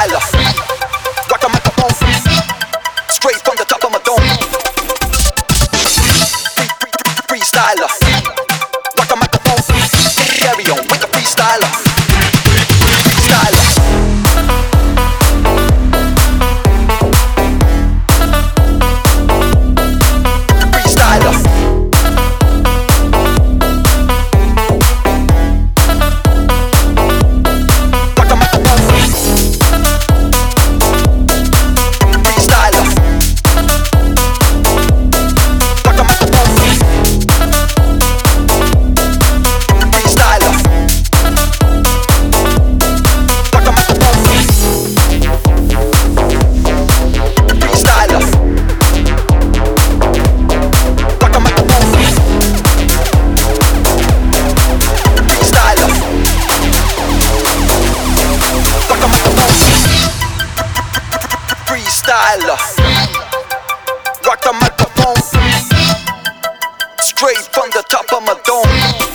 freestyler. Rock the microphone, straight from the top of my dome. Freestyler. Rock the microphone, carry on with the freestyler. Freestyler. Freestyler. Rock the microphone, straight from the top of my dome.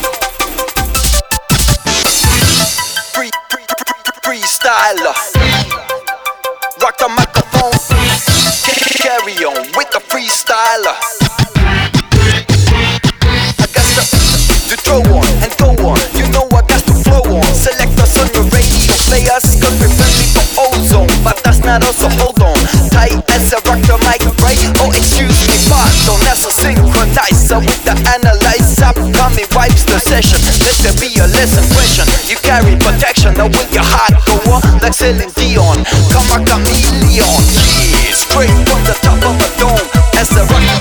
Freestyler. Rock the microphone, carry on with the freestyler. I got to throw on and go on. You know I got to flow on. Select us on your radio players, cause we're friendly for ozone. But that's not also hold on. Tight as a rock the mic, right? Oh, excuse me, pardon. That's a synchronizer with the analyzer. Coming wipes the session. Let there be a lesson question. You carry protection, now when your heart go on like Celine Dion. Come a chameleon. Yeah, straight from the top of a dome. As a rock